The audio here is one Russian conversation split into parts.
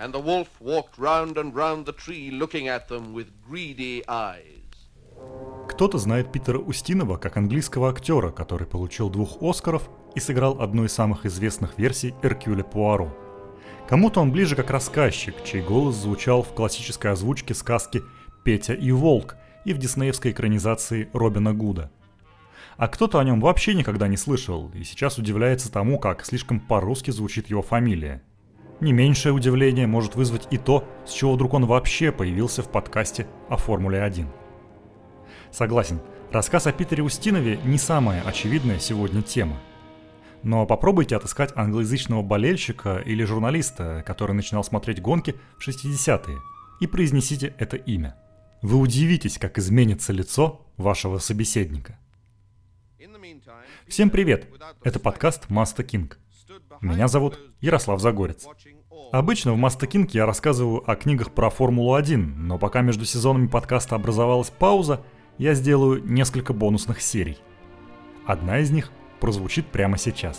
and the wolf walked round and round the tree, looking at them with greedy eyes. Кто-то знает Питера Устинова как английского актера, который получил 2 Оскаров и сыграл одну из самых известных версий Эркюля Пуаро. Кому-то он ближе как рассказчик, чей голос звучал в классической озвучке сказки «Петя и волк» и в диснеевской экранизации Робина Гуда. А кто-то о нем вообще никогда не слышал и сейчас удивляется тому, как слишком по-русски звучит его фамилия. Не меньшее удивление может вызвать и то, с чего вдруг он вообще появился в подкасте о Формуле-1. Согласен, рассказ о Питере Устинове не самая очевидная сегодня тема. Но попробуйте отыскать англоязычного болельщика или журналиста, который начинал смотреть гонки в 60-е, и произнесите это имя. Вы удивитесь, как изменится лицо вашего собеседника. Всем привет! Это подкаст Маста Кинг. Меня зовут Ярослав Загорец. Обычно в Маста Кинг я рассказываю о книгах про Формулу-1, но пока между сезонами подкаста образовалась пауза, я сделаю несколько бонусных серий. Одна из них прозвучит прямо сейчас.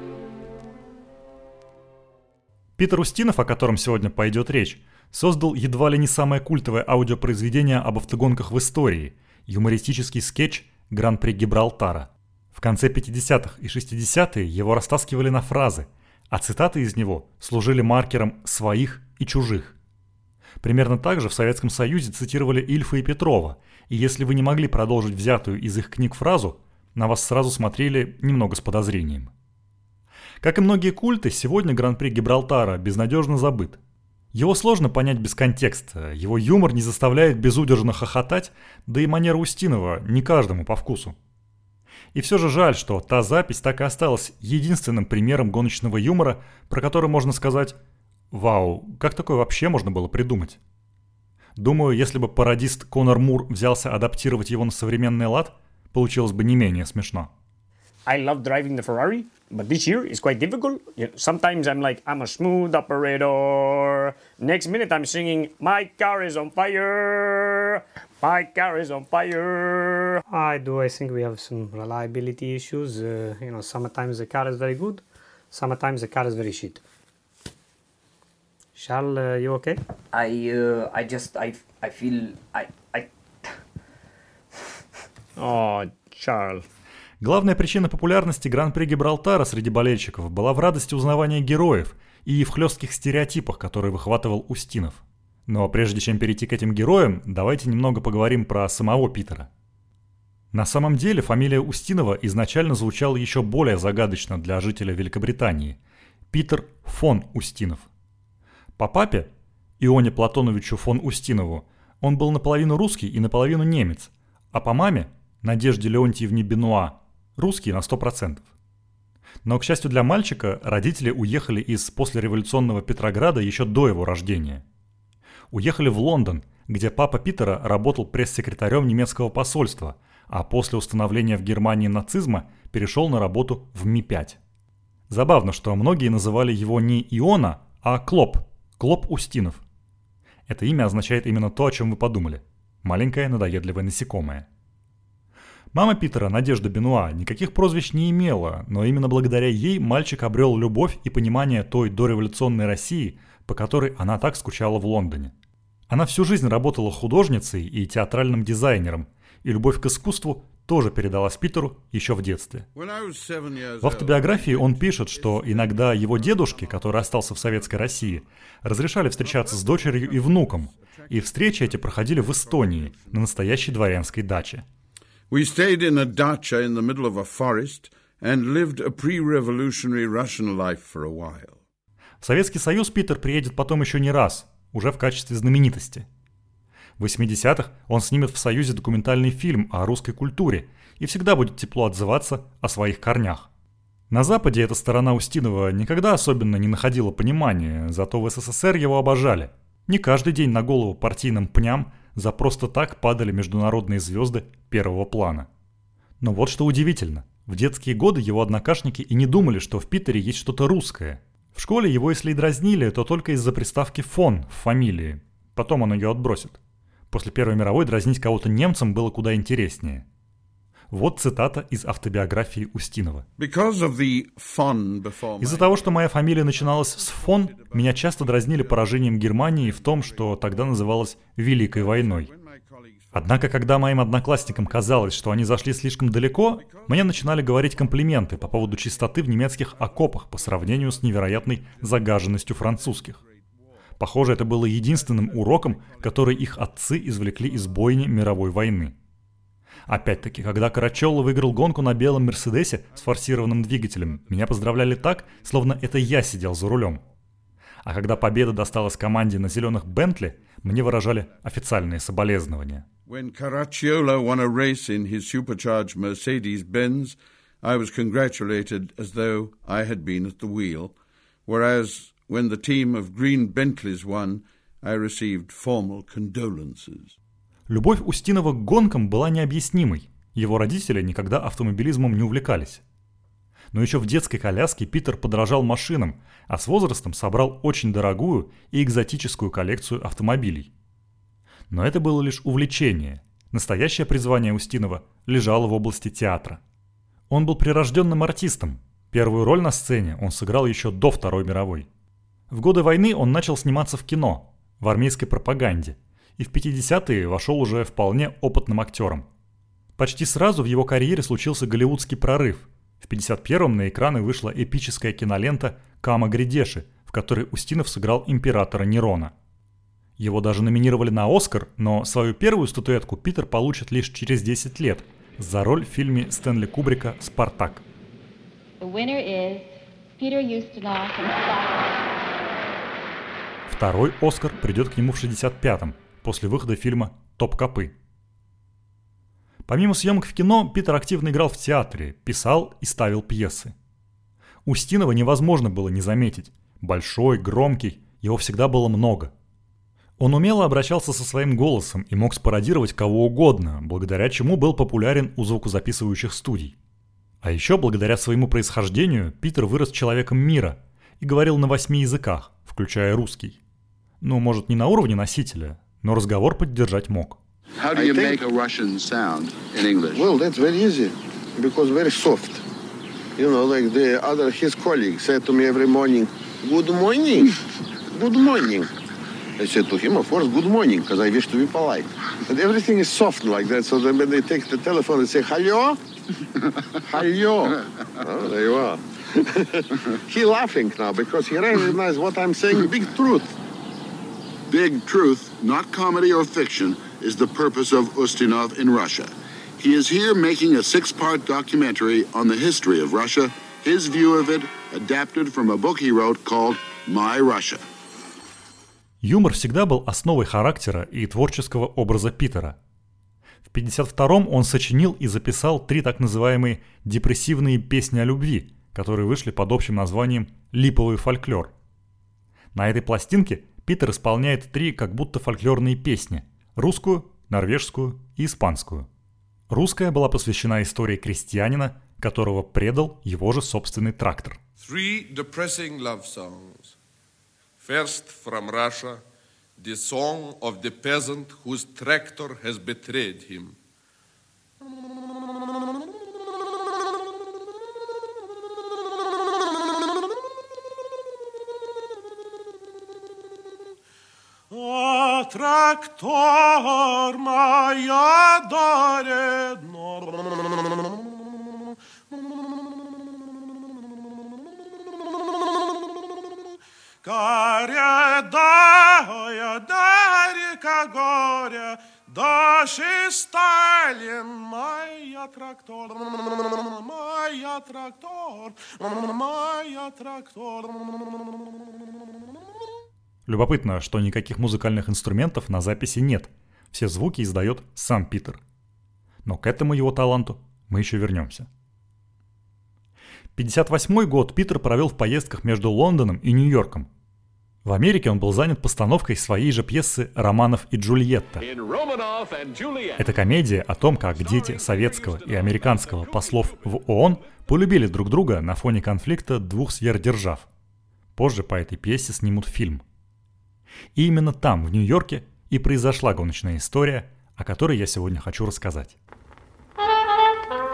Питер Устинов, о котором сегодня пойдет речь, создал едва ли не самое культовое аудиопроизведение об автогонках в истории – юмористический скетч «Гран-при Гибралтара». В конце 50-х и 60-е его растаскивали на фразы, а цитаты из него служили маркером своих и чужих. Примерно так же в Советском Союзе цитировали Ильфа и Петрова, и если вы не могли продолжить взятую из их книг фразу, на вас сразу смотрели немного с подозрением. Как и многие культы, сегодня Гран-при Гибралтара безнадежно забыт. Его сложно понять без контекста, его юмор не заставляет безудержно хохотать, да и манера Устинова не каждому по вкусу. И все же жаль, что та запись так и осталась единственным примером гоночного юмора, про который можно сказать «Вау, как такое вообще можно было придумать?». Думаю, если бы пародист Конор Мур взялся адаптировать его на современный лад, получилось бы не менее смешно. I love driving the Ferrari, but this year is quite difficult. Sometimes I'm like, I'm a smooth operator. Next minute I'm singing, my car is on fire. My car is on fire. I think we have some reliability issues. Sometimes the car is very good. Sometimes the car is very shit. Charles, you okay? I feel. Oh, Charles. Главная причина популярности Гран-при Гибралтара среди болельщиков была в радости узнавания героев и в хлестких стереотипах, которые выхватывал Устинов. Но прежде чем перейти к этим героям, давайте немного поговорим про самого Питера. На самом деле фамилия Устинова изначально звучала еще более загадочно для жителя Великобритании – Питер фон Устинов. По папе, Ионе Платоновичу фон Устинову, он был наполовину русский и наполовину немец, а по маме, Надежде Леонтьевне Бенуа, русский на 100%. Но, к счастью для мальчика, родители уехали из послереволюционного Петрограда еще до его рождения. Уехали в Лондон, где папа Питера работал пресс-секретарем немецкого посольства, а после установления в Германии нацизма перешел на работу в Ми-5. Забавно, что многие называли его не Иона, а Клоп Устинов. Это имя означает именно то, о чем вы подумали. Маленькое надоедливое насекомое. Мама Питера, Надежда Бенуа, никаких прозвищ не имела, но именно благодаря ей мальчик обрел любовь и понимание той дореволюционной России, по которой она так скучала в Лондоне. Она всю жизнь работала художницей и театральным дизайнером, и любовь к искусству тоже передалась Питеру еще в детстве. В автобиографии он пишет, что иногда его дедушке, который остался в Советской России, разрешали встречаться с дочерью и внуком, и встречи эти проходили в Эстонии, на настоящей дворянской даче. We stayed in a dacha in the middle of a forest and lived a pre-revolutionary Russian life for a while. В Советский Союз Питер приедет потом еще не раз, уже в качестве знаменитости. В 80-х он снимет в Союзе документальный фильм о русской культуре и всегда будет тепло отзываться о своих корнях. На Западе эта сторона Устинова никогда особенно не находила понимания, зато в СССР его обожали. Не каждый день на голову партийным пням за просто так падали международные звезды первого плана. Но вот что удивительно. В детские годы его однокашники и не думали, что в Питере есть что-то русское. В школе его если и дразнили, то только из-за приставки «фон» в фамилии. Потом он ее отбросит. После Первой мировой дразнить кого-то немцем было куда интереснее. Вот цитата из автобиографии Устинова. Из-за того, что моя фамилия начиналась с «фон», меня часто дразнили поражением Германии в том, что тогда называлось «Великой войной». Однако, когда моим одноклассникам казалось, что они зашли слишком далеко, мне начинали говорить комплименты по поводу чистоты в немецких окопах по сравнению с невероятной загаженностью французских. Похоже, это было единственным уроком, который их отцы извлекли из бойни мировой войны. Опять-таки, когда Карачелло выиграл гонку на белом Мерседесе с форсированным двигателем, меня поздравляли так, словно это я сидел за рулем. А когда победа досталась команде на зеленых Бентли, мне выражали официальные соболезнования. When Caracciolo won a race in his supercharged Mercedes-Benz, I was congratulated as though I had been at the wheel, whereas when the team of green Bentleys won, I received formal condolences. Любовь Устинова к гонкам была необъяснимой. Его родители никогда автомобилизмом не увлекались. Но еще в детской коляске Питер подражал машинам, а с возрастом собрал очень дорогую и экзотическую коллекцию автомобилей. Но это было лишь увлечение. Настоящее призвание Устинова лежало в области театра. Он был прирожденным артистом. Первую роль на сцене он сыграл еще до Второй мировой. В годы войны он начал сниматься в кино, в армейской пропаганде, и в 50-е вошел уже вполне опытным актером. Почти сразу в его карьере случился голливудский прорыв. В 51-м на экраны вышла эпическая кинолента «Кама Гридеши», в которой Устинов сыграл императора Нерона. Его даже номинировали на «Оскар», но свою первую статуэтку Питер получит лишь через 10 лет за роль в фильме Стэнли Кубрика «Спартак». Второй «Оскар» придет к нему в 65-м, после выхода фильма «Топ-копы». Помимо съемок в кино, Питер активно играл в театре, писал и ставил пьесы. Устинова невозможно было не заметить. Большой, громкий, его всегда было много. Он умело обращался со своим голосом и мог спародировать кого угодно, благодаря чему был популярен у звукозаписывающих студий. А еще благодаря своему происхождению Питер вырос человеком мира и говорил на 8 языках, включая русский. Ну, может, не на уровне носителя, но разговор поддержать мог. How do you make a Russian sound in English? Well, that's very easy, because very soft. You know, like his colleagues said to me every morning, "Good morning, good morning." I said to him, of course, good morning, because I wish to be polite. But everything is soft like that, so then when they take the telephone and say, "Hello, hello," oh, there you are. He laughing now because he recognized what I'm saying, big truth. Big truth, not comedy or fiction, is the purpose of Ustinov in Russia. He is here making a 6-part documentary on the history of Russia, his view of it, adapted from a book he wrote called «My Russia». Юмор всегда был основой характера и творческого образа Питера. В 1952-м он сочинил и записал 3 так называемые депрессивные песни о любви, которые вышли под общим названием «Липовый фольклор». На этой пластинке Питер исполняет 3 как будто фольклорные песни – русскую, норвежскую и испанскую. Русская была посвящена истории крестьянина, которого предал его же собственный трактор. 3 depressing love songs. First from Russia, the song of the peasant whose tractor has betrayed him. А трактор моя дарит, Карядая, дарика горя, дождь и Сталин, моя трактор, моя трактор, моя трактор. Любопытно, что никаких музыкальных инструментов на записи нет. Все звуки издает сам Питер. Но к этому его таланту мы еще вернемся. 1958 год Питер провел в поездках между Лондоном и Нью-Йорком. В Америке он был занят постановкой своей же пьесы «Романов и Джульетта». Это комедия о том, как дети советского и американского послов в ООН полюбили друг друга на фоне конфликта 2 сверхдержав. Позже по этой пьесе снимут фильм. И именно там, в Нью-Йорке, и произошла гоночная история, о которой я сегодня хочу рассказать.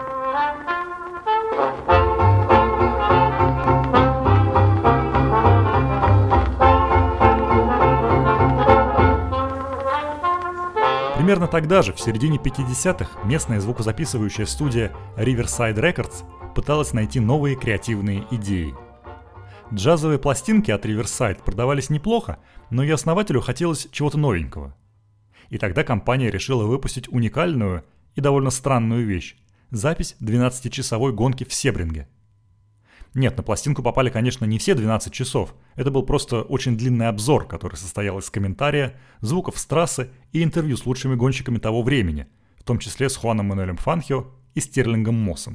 Примерно тогда же, в середине 50-х, местная звукозаписывающая студия Riverside Records пыталась найти новые креативные идеи. Джазовые пластинки от Riverside продавались неплохо, но и основателю хотелось чего-то новенького. И тогда компания решила выпустить уникальную и довольно странную вещь – запись 12-часовой гонки в Себринге. Нет, на пластинку попали, конечно, не все 12 часов. Это был просто очень длинный обзор, который состоял из комментария, звуков с трассы и интервью с лучшими гонщиками того времени, в том числе с Хуаном Мануэлем Фанхио и Стерлингом Моссом.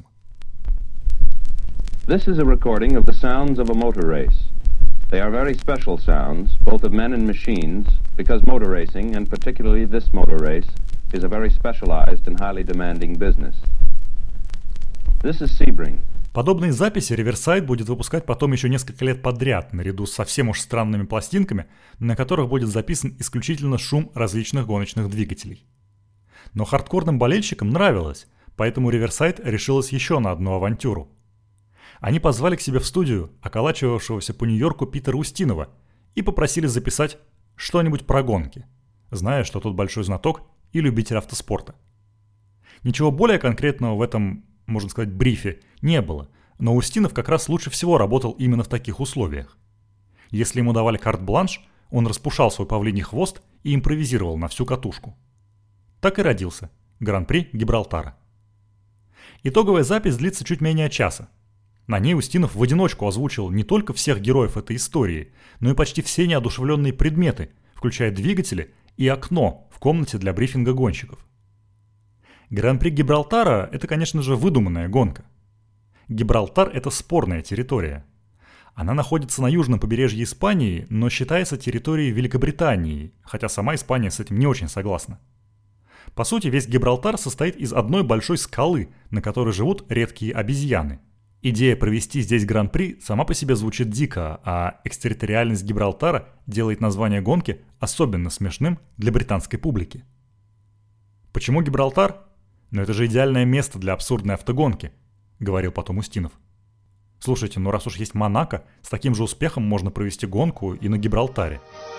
This is a recording of the sounds of a motor race. They are very special sounds, both of men and machines, because motor racing, and particularly this motor race, is a very specialized and highly demanding business. This is Sebring. Подобные записи Riverside будет выпускать потом еще несколько лет подряд, наряду со совсем уж странными пластинками, на которых будет записан исключительно шум различных гоночных двигателей. Но хардкорным болельщикам нравилось, поэтому Riverside решилась еще на одну авантюру. Они позвали к себе в студию околачивавшегося по Нью-Йорку Питера Устинова и попросили записать что-нибудь про гонки, зная, что тот большой знаток и любитель автоспорта. Ничего более конкретного в этом, можно сказать, брифе не было, но Устинов как раз лучше всего работал именно в таких условиях. Если ему давали карт-бланш, он распушал свой павлиний хвост и импровизировал на всю катушку. Так и родился Гран-при Гибралтара. Итоговая запись длится чуть менее часа. На ней Устинов в одиночку озвучил не только всех героев этой истории, но и почти все неодушевленные предметы, включая двигатели и окно в комнате для брифинга гонщиков. Гран-при Гибралтара – это, конечно же, выдуманная гонка. Гибралтар – это спорная территория. Она находится на южном побережье Испании, но считается территорией Великобритании, хотя сама Испания с этим не очень согласна. По сути, весь Гибралтар состоит из одной большой скалы, на которой живут редкие обезьяны. Идея провести здесь Гран-при сама по себе звучит дико, а экстерриториальность Гибралтара делает название гонки особенно смешным для британской публики. Почему Гибралтар? Но это же идеальное место для абсурдной автогонки, говорил потом Устинов. Слушайте, ну раз уж есть Монако, с таким же успехом можно провести гонку и на Гибралтаре.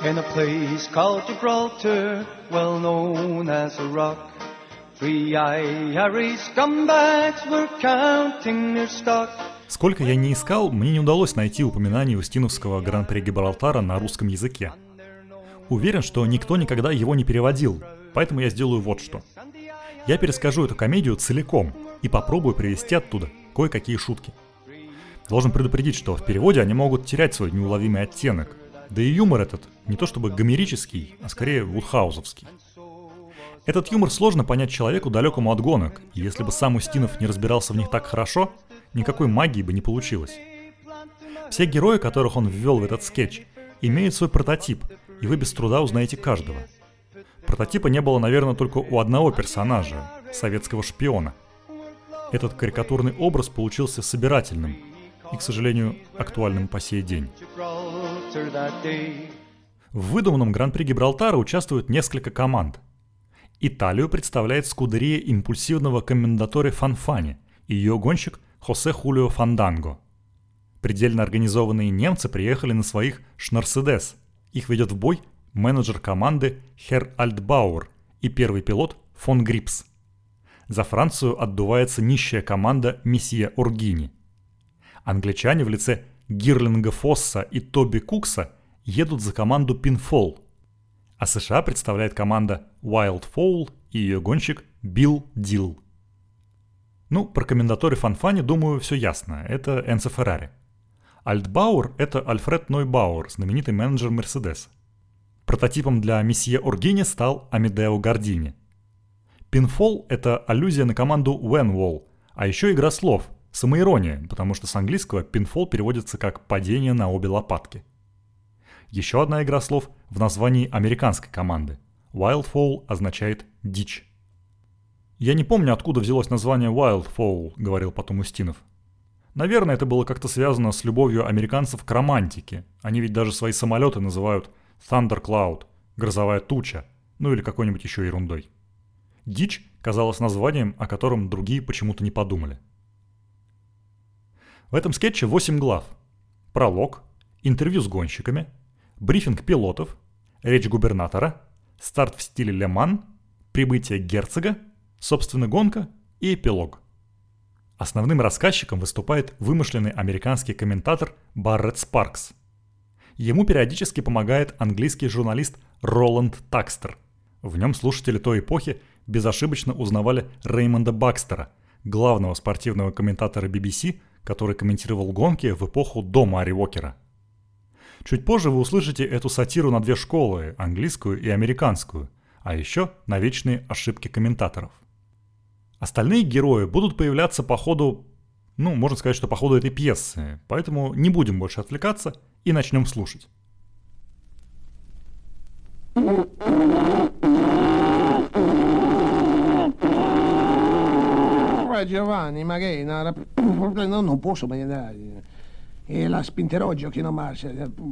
Сколько я не искал, мне не удалось найти упоминаний Устиновского Гран-при Гибралтара на русском языке. Уверен, что никто никогда его не переводил, поэтому я сделаю вот что. Я перескажу эту комедию целиком и попробую привести оттуда кое-какие шутки. Должен предупредить, что в переводе они могут терять свой неуловимый оттенок, да и юмор этот не то чтобы гомерический, а скорее вудхаузовский. Этот юмор сложно понять человеку, далекому от гонок, и если бы сам Устинов не разбирался в них так хорошо, никакой магии бы не получилось. Все герои, которых он ввел в этот скетч, имеют свой прототип, и вы без труда узнаете каждого. Прототипа не было, наверное, только у одного персонажа – советского шпиона. Этот карикатурный образ получился собирательным и, к сожалению, актуальным по сей день. В выдуманном Гран-при Гибралтара участвуют несколько команд. Италию представляет скудерия импульсивного коммендаторе Фанфани и ее гонщик Хосе Хулио Фанданго. Предельно организованные немцы приехали на своих «Шнарседес». Их ведет в бой менеджер команды Херр Альтбауэр и первый пилот фон Грипс. За Францию отдувается нищая команда месье Оргини. Англичане в лице Гирлинга Фосса и Тоби Кукса едут за команду Пинфол. А США представляет команда Wild Fowl и ее гонщик Билл Дилл. Ну, про коммендаторе Фанфани, думаю, все ясно. Это Энцо Феррари. Альтбауэр – это Альфред Нойбауэр, знаменитый менеджер Мерседеса. Прототипом для месье Оргини стал Амедео Гардини. Пинфол – это аллюзия на команду Венвол, а еще игра слов, самоирония, потому что с английского пинфол переводится как «падение на обе лопатки». Еще одна игра слов в названии американской команды. Wild Fowl означает «дичь». «Я не помню, откуда взялось название Wild Fowl», — говорил потом Устинов. «Наверное, это было как-то связано с любовью американцев к романтике. Они ведь даже свои самолеты называют Thunder Cloud, грозовая туча, ну или какой-нибудь еще ерундой. Дичь казалось названием, о котором другие почему-то не подумали». В этом скетче 8 глав. Пролог, интервью с гонщиками, брифинг пилотов, речь губернатора, старт в стиле Ле Ман, прибытие герцога, собственно гонка и эпилог. Основным рассказчиком выступает вымышленный американский комментатор Барретт Спаркс. Ему периодически помогает английский журналист Роланд Такстер. В нем слушатели той эпохи безошибочно узнавали Реймонда Бакстера, главного спортивного комментатора BBC, который комментировал гонки в эпоху до Мари Уокера. Чуть позже вы услышите эту сатиру на две школы, английскую и американскую, а еще на вечные ошибки комментаторов. Остальные герои будут появляться по ходу, можно сказать, что по ходу этой пьесы, поэтому не будем больше отвлекаться и начнем слушать. Giovanni, ma che non posso mangiare. E la spinterogio che non marcia.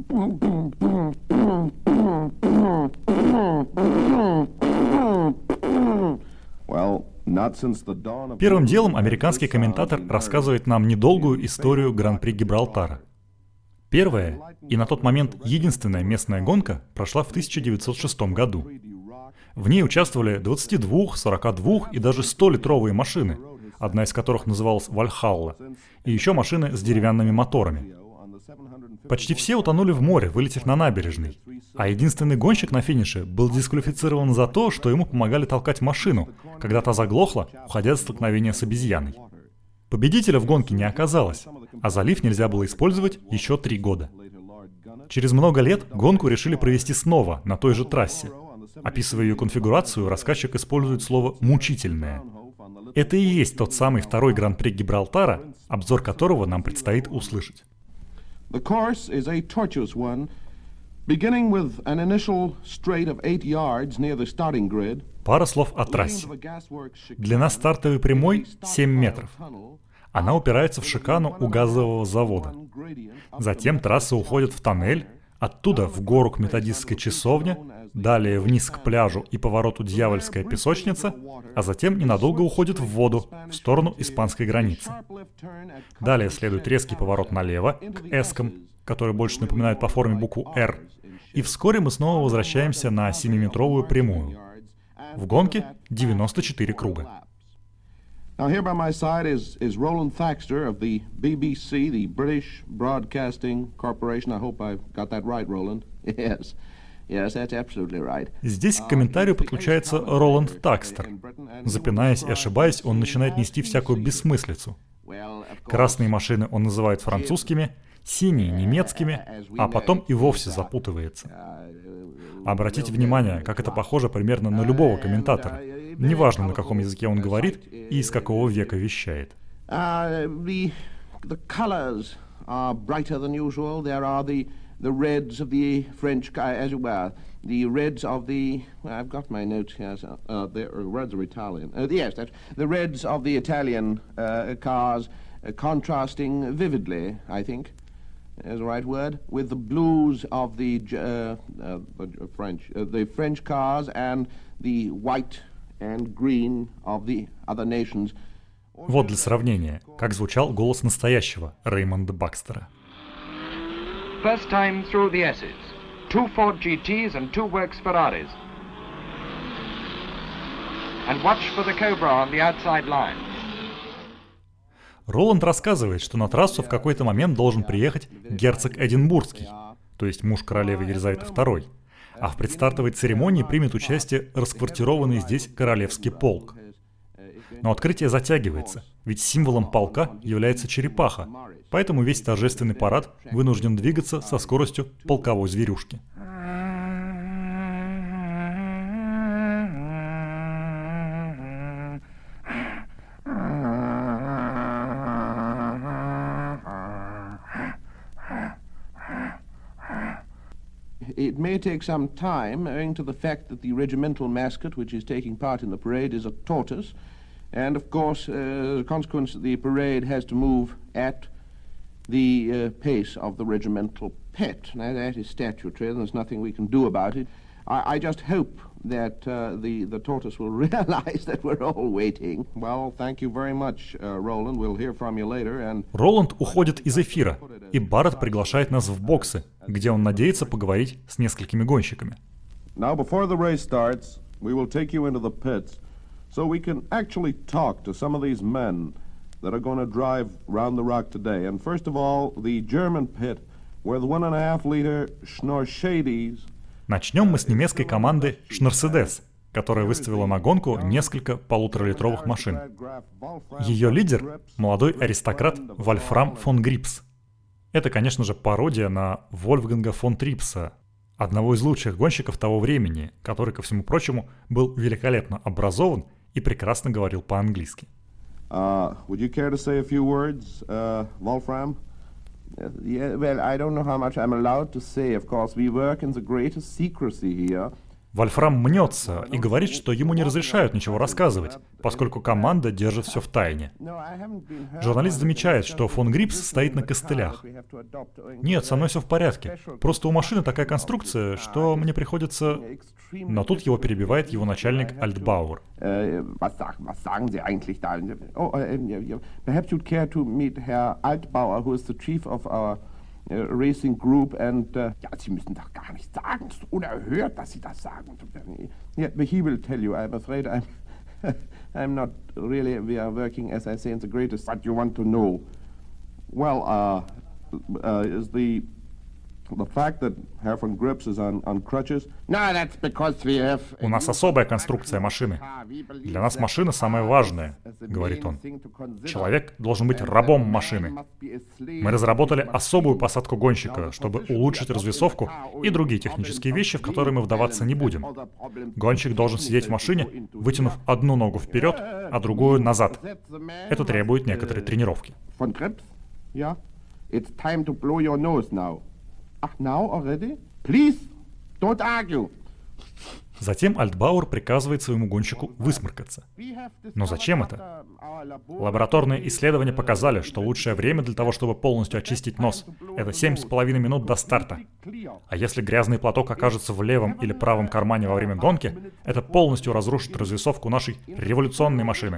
Первым делом американский комментатор рассказывает нам недолгую историю Гран-при Гибралтара. Первая и на тот момент единственная местная гонка прошла в 1906 году. В ней участвовали 22, 42 и даже 100-литровые машины, одна из которых называлась «Вальхалла», и еще машины с деревянными моторами. Почти все утонули в море, вылетев на набережной, а единственный гонщик на финише был дисквалифицирован за то, что ему помогали толкать машину, когда та заглохла, уходя от столкновения с обезьяной. Победителя в гонке не оказалось, а залив нельзя было использовать еще 3 года. Через много лет гонку решили провести снова на той же трассе. Описывая ее конфигурацию, рассказчик использует слово «мучительное». Это и есть тот самый второй Гран-при Гибралтара, обзор которого нам предстоит услышать. The course is a tortuous one, beginning with an initial straight of 8 yards near the starting grid. Пара слов о трассе. Длина стартовой прямой 7 метров. Она упирается в шикану у газового завода. Затем трасса уходит в тоннель, оттуда в гору к методистской часовне, далее вниз к пляжу и повороту Дьявольская песочница, а затем ненадолго уходит в воду, в сторону испанской границы. Далее следует резкий поворот налево, к эскам, которые больше напоминают по форме букву «Р», и вскоре мы снова возвращаемся на 7-метровую прямую. В гонке 94 круга. Now here by my side is Roland Thaxter of the BBC, the British Broadcasting Corporation. I hope I've got that right, Roland. Yes, that's absolutely right. Здесь к комментарию подключается Роланд Такстер. Запинаясь и ошибаясь, он начинает нести всякую бессмыслицу. Красные машины он называет французскими, синие — немецкими, а потом и вовсе запутывается. Обратите внимание, как это похоже примерно на любого комментатора. Неважно, на каком языке он говорит и из какого века вещает. The colors are brighter than usual. There are the reds of the French, as it were, the reds of the. I've got my notes here. The reds are Italian. Yes, that's the reds of the Italian cars contrasting vividly, I think, is the right word, with the blues of the French cars and the white and green of the other nations. Вот для сравнения, как звучал голос настоящего Реймонда Бакстера. First time through the S's. 2 Ford GTs and 2 Works Ferraris. And watch for the Cobra on the outside line. Роланд рассказывает, что на трассу в какой-то момент должен приехать герцог Эдинбургский, то есть муж королевы Елизаветы II, а в предстартовой церемонии примет участие расквартированный здесь королевский полк. Но открытие затягивается, ведь символом полка является черепаха, поэтому весь торжественный парад вынужден двигаться со скоростью полковой зверюшки. It may take some time, owing to the fact that the regimental mascot which is taking part in the parade is a tortoise, and of course, as a consequence, the parade has to move at the pace of the regimental pet. Now that is statutory, and there's nothing we can do about it. I just hope that the tortoise will realize that we're all waiting. Well, thank you very much, Roland. We'll hear from you later. And Роланд уходит из эфира, и Барретт приглашает нас в боксы, где он надеется поговорить с несколькими гонщиками. Now, before the race starts, We will take you into the pits so we can actually talk to some of these men that are going to drive round the rock today. And first of all, the German pit, where the 1.5-liter Schnorr-Shadies. Начнем мы с немецкой команды Schnorr-Sedes, которая выставила на гонку несколько полуторалитровых машин. Ее лидер – молодой аристократ Вольфрам фон Грипс. Это, конечно же, пародия на Вольфганга фон Трипса, одного из лучших гонщиков того времени, который, ко всему прочему, был великолепно образован и прекрасно говорил по-английски. Would you care to say a few words, Wolfram? Yeah, well, I don't know how much I'm allowed to say. Of course, we work in the greatest secrecy here. Вольфрам мнется и говорит, что ему не разрешают ничего рассказывать, поскольку команда держит все в тайне. Журналист замечает, что фон Грипс стоит на костылях. «Нет, со мной все в порядке. Просто у машины такая конструкция, что мне приходится...» Но тут его перебивает его начальник Альтбауэр. Was sagen Sie eigentlich da? Perhaps you'd care to meet Herr Altbauer, who is the chief of our racing group, and ja, Sie müssen doch gar nicht sagen, es ist unerhört, dass Sie das sagen. Yeah, he will tell you. I'm afraid I'm not really. We are working, as I say, in the greatest. What you want to know? Well, is the fact that Herr von Grips is on crutches? No, that's because we have. У нас особая конструкция машины. Для нас машина самая важная, говорит он. Человек должен быть рабом машины. Мы разработали особую посадку гонщика, чтобы улучшить развесовку и другие технические вещи, в которые мы вдаваться не будем. Гонщик должен сидеть в машине, вытянув одну ногу вперед, а другую назад. Это требует некоторой тренировки. Von Grips? Yeah. It's time to blow your nose now. Now already? Please, don't argue. Затем Альтбауэр приказывает своему гонщику высморкаться. Но зачем это? Лабораторные исследования показали, что лучшее время для того, чтобы полностью очистить нос, это 7,5 минут до старта. А если грязный платок окажется в левом или правом кармане во время гонки, это полностью разрушит развесовку нашей революционной машины.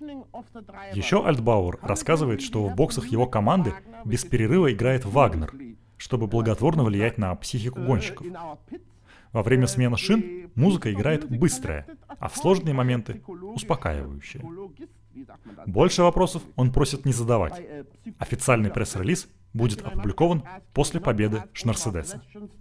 Еще Альтбауэр рассказывает, что в боксах его команды без перерыва играет Вагнер, чтобы благотворно влиять на психику гонщиков. Во время смены шин музыка играет быстрая, а в сложные моменты — успокаивающая. Больше вопросов он просит не задавать. Официальный пресс-релиз будет опубликован после победы Schnorr-Sedesa.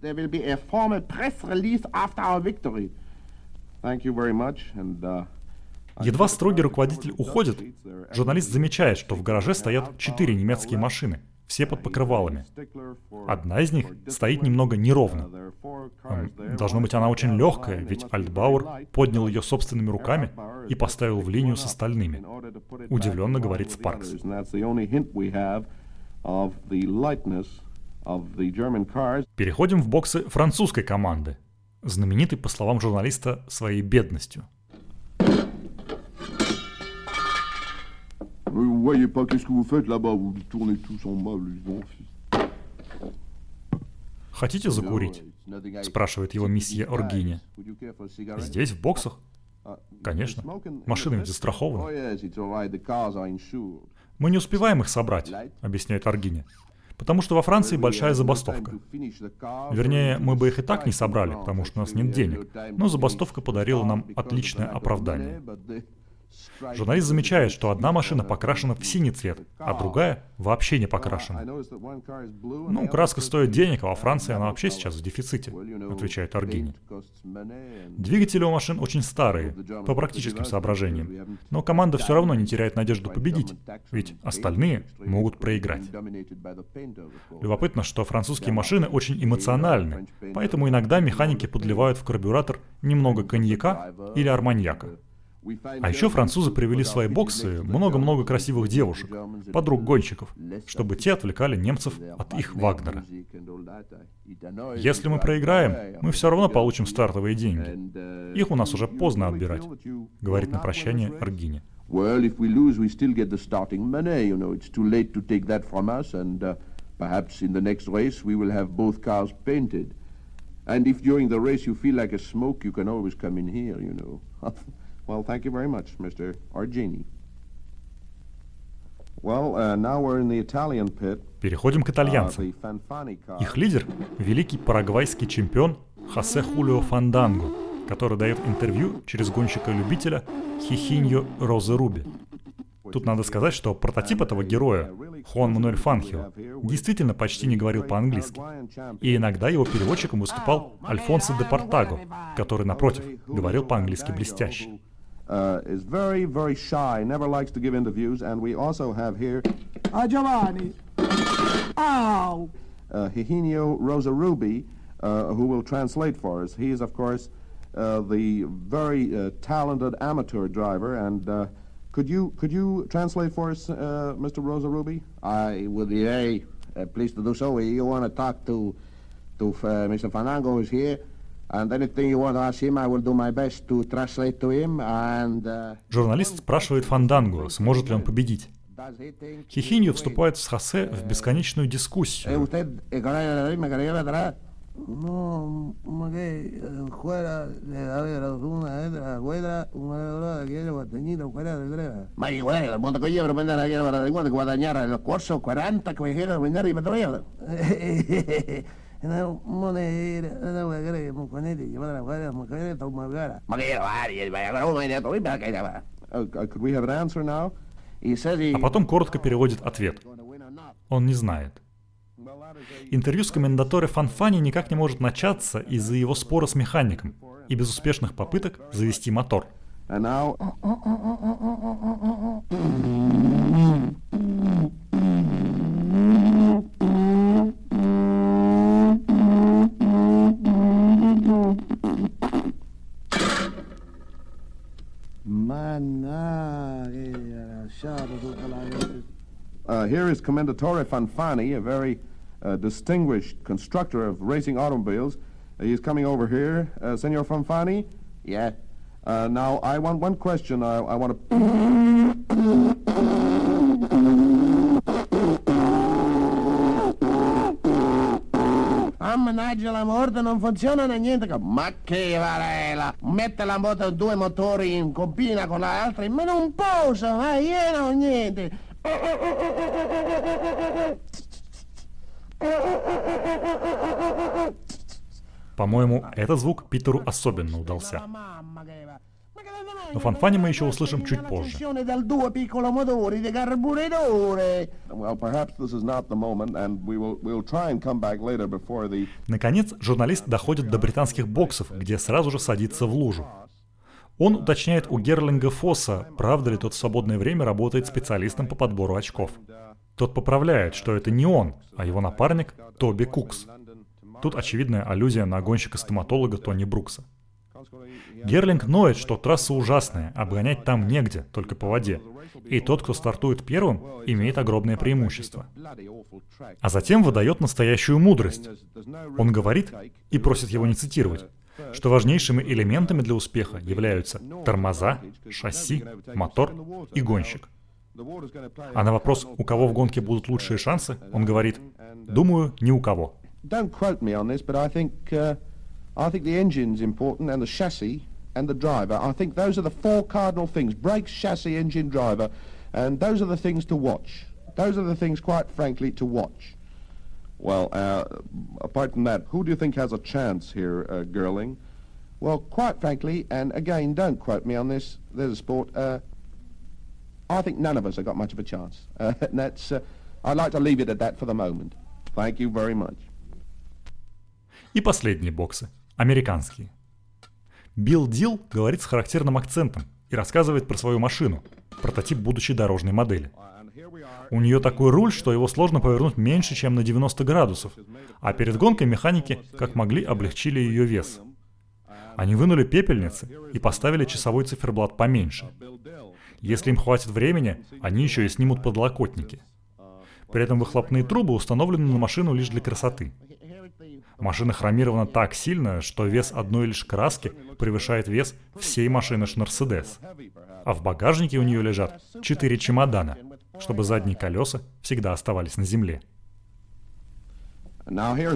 Едва строгий руководитель уходит, журналист замечает, что в гараже стоят 4 немецкие машины, все под покрывалами. Одна из них стоит немного неровно. Должно быть, она очень легкая, ведь Альтбауэр поднял ее собственными руками и поставил в линию с остальными. Удивленно говорит Спаркс. Переходим в боксы французской команды, знаменитой, по словам журналиста, своей бедностью. Vous voyez pas qu'est-ce que vous faites là-bas, vous tournez tous en bas, les «Хотите закурить?» — спрашивает его месье Оргини. «Здесь, в боксах?» «Конечно. Машины ведь застрахованы». «Мы не успеваем их собрать», — объясняет Оргини. «Потому что во Франции большая забастовка. Вернее, мы бы их и так не собрали, потому что у нас нет денег. Но забастовка подарила нам отличное оправдание». Журналист замечает, что одна машина покрашена в синий цвет, а другая вообще не покрашена. «Ну, краска стоит денег, а во Франции она вообще сейчас в дефиците», — отвечает Оргини. Двигатели у машин очень старые, по практическим соображениям, но команда все равно не теряет надежду победить, ведь остальные могут проиграть. Любопытно, что французские машины очень эмоциональны, поэтому иногда механики подливают в карбюратор немного коньяка или арманьяка. А еще французы привели в свои боксы много-много красивых девушек, подруг гонщиков, чтобы те отвлекали немцев от их Вагнера. «Если мы проиграем, мы все равно получим стартовые деньги. Их у нас уже поздно отбирать», — говорит на прощание Оргини. Well, thank you very much, Mr. Orgini. Well, now we're in the Italian pit. Переходим к итальянцам. Их лидер — великий парагвайский чемпион Хосе Хулио Фанданго, который дает интервью через гонщика-любителя Хихиньо Роза Руби. Тут надо сказать, что прототип этого героя, Хуан Мануэль Фанхио, действительно почти не говорил по-английски. И иногда его переводчиком выступал Альфонсо де Портаго, который, напротив, говорил по-английски блестяще. Is very, very shy, never likes to give interviews, and we also have here Giovanni. Ow! Higinio Rosarubi, who will translate for us. He is, of course, the very talented amateur driver, and could you translate for us, Mr. Rosarubi? I would be very pleased to do so. You want to talk to Mr. Fandango, who's here, and anything you want to ask him, I will do my best to translate to him. And Журналист спрашивает Фанданго, сможет ли он победить. Хихиньо вступает с Хосе в бесконечную дискуссию. No, ma che fuera de haber una letra, guarda, una che era guadagnino, quella de ma igual, la monta che io per andare a guadagnare il corso 40 che era vendere i petrolio. No, monera, no va a creer, mo conete, che va a guardare, mo che sta una gara. Ma che vai, vai a guardare, ne to iba che era. Could we have an answer now? А потом коротко переводит ответ. Он не знает. Интервью с коммендаторе Фанфани никак не может начаться из-за его спора с механиком и безуспешных попыток завести мотор. Here is Commendatore Fanfani, a very distinguished constructor of racing automobiles. He's coming over here. Senor Fanfani? Yeah. Now, I want one question. I want to... Mannaggia la morte, non funziona niente. Ma che varela! Mette la moto due motori in combina con l'altra, ma non posso, ma io non niente. По-моему, этот звук Питеру особенно удался. Но Фанфани мы еще услышим чуть позже. Наконец, журналист доходит до британских боксов, где сразу же садится в лужу. Он уточняет у Герлинга Фосса, правда ли тот в свободное время работает специалистом по подбору очков. Тот поправляет, что это не он, а его напарник Тоби Кукс. Тут очевидная аллюзия на гонщика-стоматолога Тони Брукса. Герлинг ноет, что трасса ужасная, обгонять там негде, только по воде. И тот, кто стартует первым, имеет огромное преимущество. А затем выдает настоящую мудрость. Он говорит, и просит его не цитировать, что важнейшими элементами для успеха являются тормоза, шасси, мотор и гонщик. А на вопрос, у кого в гонке будут лучшие шансы, он говорит, думаю, ни у кого. I think the engine's important, and the chassis, and the driver. I think those are the four cardinal things: brakes, chassis, engine, driver. And those are the things to watch. Those are the things, quite frankly, to watch. Well, apart from that, who do you think has a chance here, Gerling? Well, quite frankly, and again, don't quote me on this, there's a sport, I think none of us have got much of a chance. And that's, I'd like to leave it at that for the moment. Thank you very much. И последние боксы. Американские. Билл Дилл говорит с характерным акцентом и рассказывает про свою машину, прототип будущей дорожной модели. У нее такой руль, что его сложно повернуть меньше, чем на 90 градусов, а перед гонкой механики, как могли, облегчили ее вес. Они вынули пепельницы и поставили часовой циферблат поменьше. Если им хватит времени, они еще и снимут подлокотники. При этом выхлопные трубы установлены на машину лишь для красоты. Машина хромирована так сильно, что вес одной лишь краски превышает вес всей машины Мерседес. А в багажнике у нее лежат 4 чемодана, чтобы задние колеса всегда оставались на земле. С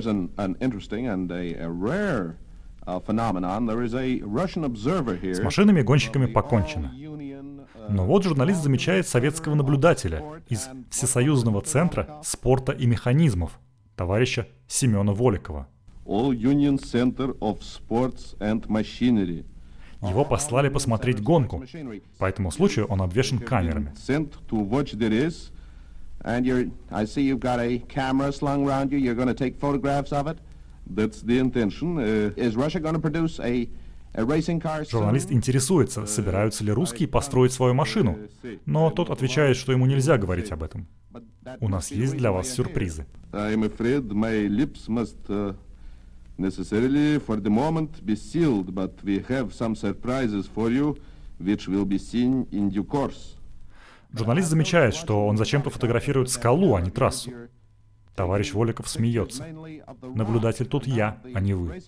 машинами-гонщиками покончено. Но вот журналист замечает советского наблюдателя из Всесоюзного центра спорта и механизмов, товарища Семена Воликова. All Union Center of Sports and Machinery. Его послали посмотреть гонку. По этому случаю он обвешан камерами. Sent to watch the race, and I see you've got a camera slung around you. You're going to take photographs of it. That's the intention. Is Russia going to produce a racing car soon? Журналист интересуется, собираются ли русские построить свою машину, но тот отвечает, что ему нельзя говорить об этом. У нас есть для вас сюрпризы. I'm afraid my lips must necessarily for the moment be sealed, but we have some surprises for you, which will be seen in due course. Журналист замечает, что он зачем-то фотографирует скалу, а не трассу. Товарищ Воликов смеется. Наблюдатель тут я, а не вы.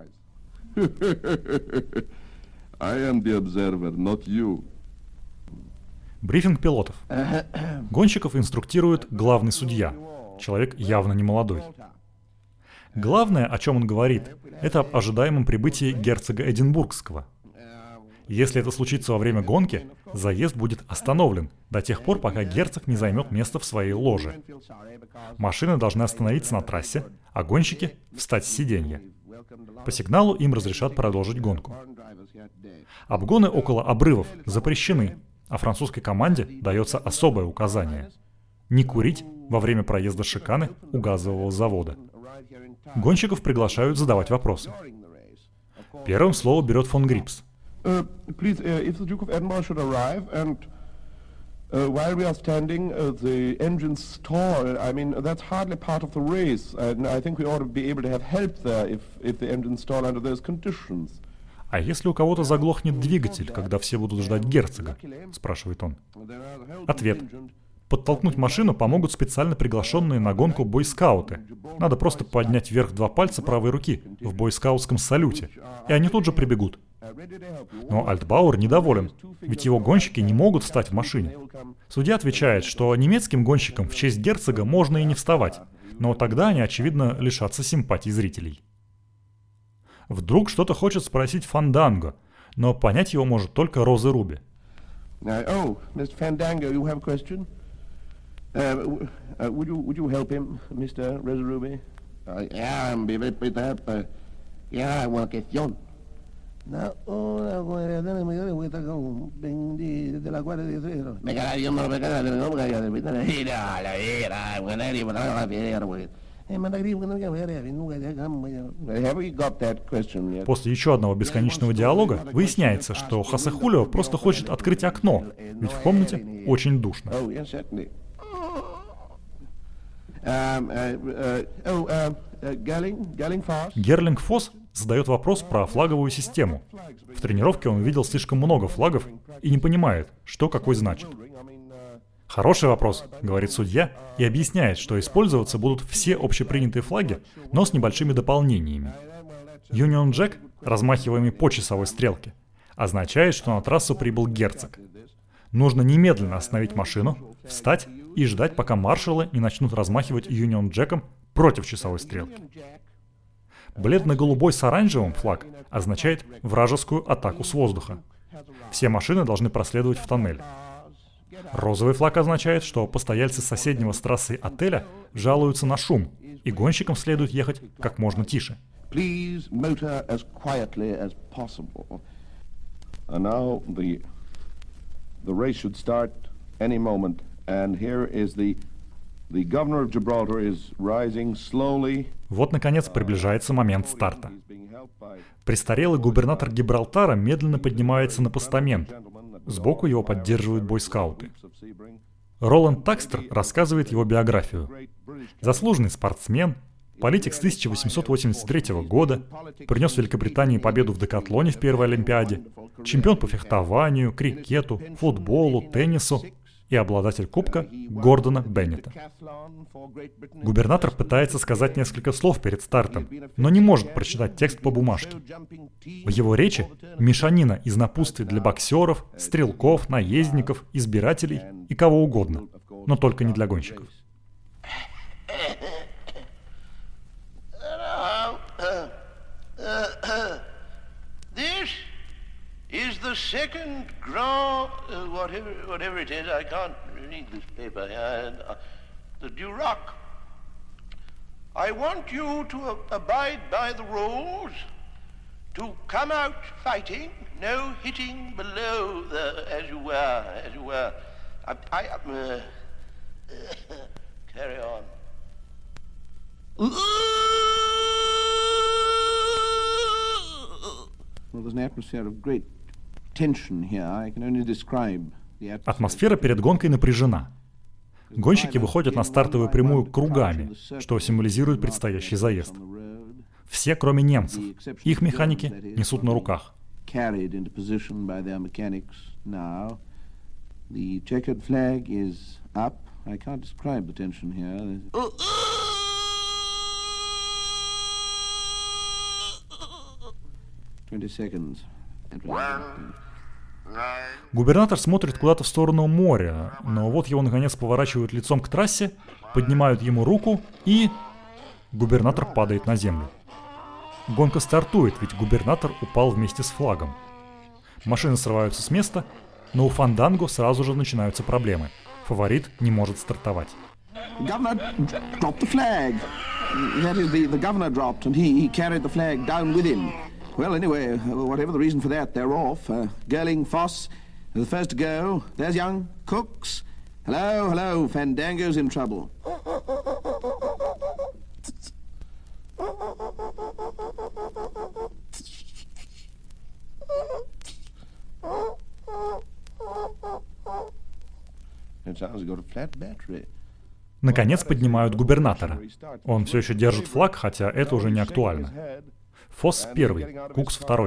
I am the observer, not you. Брифинг пилотов. Гонщиков инструктирует главный судья. Человек явно не молодой. Главное, о чем он говорит, это об ожидаемом прибытии герцога Эдинбургского. Если это случится во время гонки, заезд будет остановлен до тех пор, пока герцог не займет место в своей ложе. Машины должны остановиться на трассе, а гонщики — встать с сиденья. По сигналу им разрешат продолжить гонку. Обгоны около обрывов запрещены, а французской команде дается особое указание — не курить во время проезда шиканы у газового завода. Гонщиков приглашают задавать вопросы. Первым слово берет фон Грипс. Please, if the Duke of Edinburgh should arrive, and while we are standing, the engines stall. I mean, that's hardly part of the race, and I think we ought to be able to have help there if the engines stall under those conditions. А если у кого-то заглохнет двигатель, когда все будут ждать герцога? Спрашивает он. Ответ. Подтолкнуть машину помогут специально приглашенные на гонку бойскауты. Надо просто поднять вверх два пальца правой руки в бойскаутском салюте, и они тут же прибегут. Но Альтбауэр недоволен, ведь его гонщики не могут встать в машине. Судья отвечает, что немецким гонщикам в честь герцога можно и не вставать, но тогда они, очевидно, лишатся симпатий зрителей. Вдруг что-то хочет спросить Фанданго, но понять его может только Роза Руби. Oh, Mr. Fandango, you have a question? Would you help him, Mr. Rosa Ruby? Yeah, una cuestión. Una guardia me dio vuelta con de la guardia de cero. Me caga Dios, no me caga, no me caga, de la vera, buena y para la vera, güey. После еще одного бесконечного диалога выясняется, что Хосе Хулио просто хочет открыть окно, ведь в комнате очень душно. Герлинг Фосс задает вопрос про флаговую систему. В тренировке он увидел слишком много флагов и не понимает, что какой значит. «Хороший вопрос», — говорит судья, и объясняет, что использоваться будут все общепринятые флаги, но с небольшими дополнениями. Union Jack, размахиваемый по часовой стрелке, означает, что на трассу прибыл герцог. Нужно немедленно остановить машину, встать и ждать, пока маршалы не начнут размахивать Union Jack'ом против часовой стрелки. Бледно-голубой с оранжевым флаг означает вражескую атаку с воздуха. Все машины должны проследовать в тоннель. Розовый флаг означает, что постояльцы соседнего с трассой отеля жалуются на шум, и гонщикам следует ехать как можно тише. Please motor as quietly as possible. And now the race should start any moment. And here is the governor of Gibraltar is rising slowly. Вот, наконец, приближается момент старта. Престарелый губернатор Гибралтара медленно поднимается на постамент. Сбоку его поддерживают бойскауты. Роланд Такстер рассказывает его биографию. Заслуженный спортсмен, политик с 1883 года, принес Великобритании победу в декатлоне в первой Олимпиаде, чемпион по фехтованию, крикету, футболу, теннису и обладатель кубка Гордона Беннета. Губернатор пытается сказать несколько слов перед стартом, но не может прочитать текст по бумажке. В его речи мешанина из напутствий для боксеров, стрелков, наездников, избирателей и кого угодно, но только не для гонщиков. Is the second grand, whatever it is, I can't read this paper here, the Duroc. I want you to abide by the rules, to come out fighting, no hitting below the, as you were. Carry on. Well, there's an atmosphere of great tension here. I can only describe the atmosphere. Атмосфера перед гонкой напряжена. Гонщики выходят на стартовую прямую кругами, что символизирует предстоящий заезд. Все, кроме немцев. Их механики несут на руках. Carried into position by their mechanics now. The checkered flag is up. I can't describe the tension here. Губернатор смотрит куда-то в сторону моря, но вот его наконец поворачивают лицом к трассе, поднимают ему руку и... Губернатор падает на землю. Гонка стартует, ведь губернатор упал вместе с флагом. Машины срываются с места, но у Фанданго сразу же начинаются проблемы. Фаворит не может стартовать. Governor dropped the flag. That is, the governor dropped, and he carried the flag down with him. Well, anyway, whatever the reason for that, they're off. Gerling, Foss, the first to go. There's young Cooks. Hello, Fandango's in trouble. It sounds like got a flat battery. Наконец поднимают губернатора. Он все еще держит флаг, хотя это уже не актуально. Фосс первый, Кукс второй.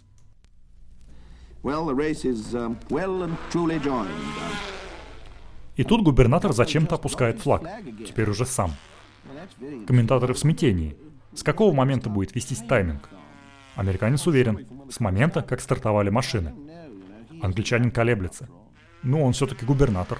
И тут губернатор зачем-то опускает флаг, теперь уже сам. Комментаторы в смятении. С какого момента будет вестись тайминг? Американец уверен, с момента, как стартовали машины. Англичанин колеблется. Ну, он все-таки губернатор.